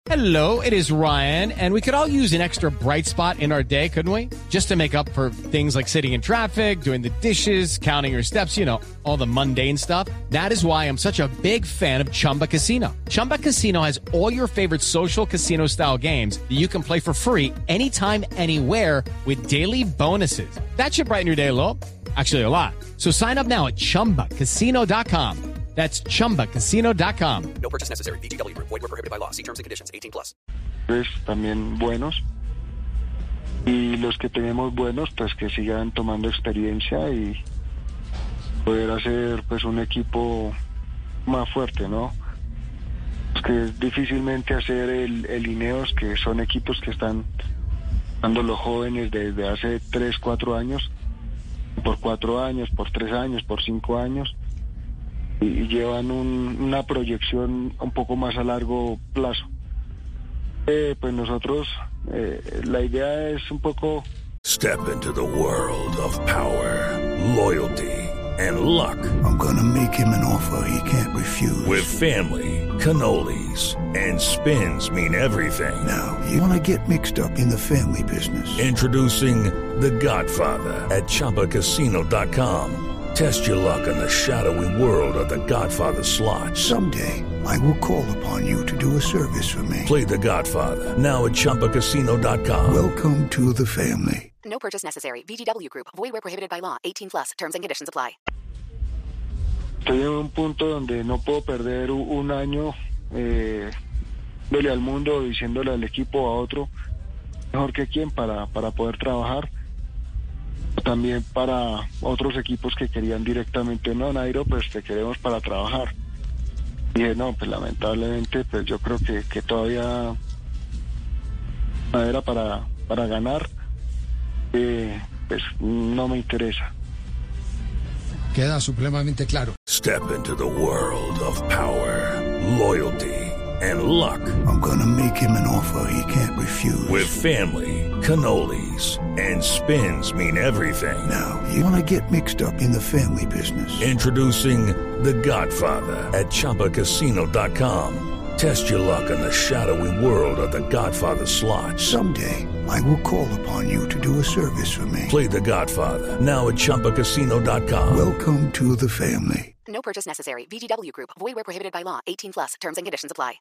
Hello, it is Ryan, and we could all use an extra bright spot in our day, couldn't we? Just to make up for things like sitting in traffic, doing the dishes, counting your steps, you know, all the mundane stuff. That is why I'm such a big fan of Chumba Casino. Chumba Casino has all your favorite social casino-style games that you can play for free anytime, anywhere with daily bonuses. That should brighten your day a little. Actually, a lot. So sign up now at ChumbaCasino.com. That's ChumbaCasino.com. No purchase necessary. VGW Group. Void where prohibited by law. See terms and conditions. 18+. Pues también buenos. Y los que tenemos buenos, pues que sigan tomando experiencia y poder hacer pues un equipo más fuerte, ¿no? Pues que difícilmente hacer el Ineos, que son equipos que están dando los jóvenes desde hace 3, 4 años, por 4 años, por 3 años, por 5 años. Y llevan una proyección un poco más a largo plazo. Pues nosotros, la idea es un poco... Step into the world of power, loyalty, and luck. I'm gonna make him an offer he can't refuse. With family, cannolis, and spins mean everything. Now, you wanna get mixed up in the family business. Introducing The Godfather at ChumbaCasino.com. Test your luck in the shadowy world of The Godfather slot. Someday, I will call upon you to do a service for me. Play The Godfather, now at ChumbaCasino.com. Welcome to the family. No purchase necessary. VGW Group. Void where prohibited by law. 18+. Terms and conditions apply. Estoy en un punto donde no puedo perder un año dele al mundo, diciéndole al equipo, a otro, mejor que quién para poder trabajar. También para otros equipos que querían directamente, no, Nairo, pues te queremos para trabajar. Y dije, no, pues lamentablemente, pues yo creo que todavía era para ganar, pues no me interesa. Queda supremamente claro. Step into the world of power, loyalty, and luck. I'm gonna make him an offer he can't refuse. With family, cannolis, and spins mean everything. Now, you wanna get mixed up in the family business. Introducing The Godfather at ChumbaCasino.com. Test your luck in the shadowy world of The Godfather slot. Someday, I will call upon you to do a service for me. Play The Godfather, now at ChumbaCasino.com. Welcome to the family. No purchase necessary. VGW Group. Void where prohibited by law. 18+. Terms and conditions apply.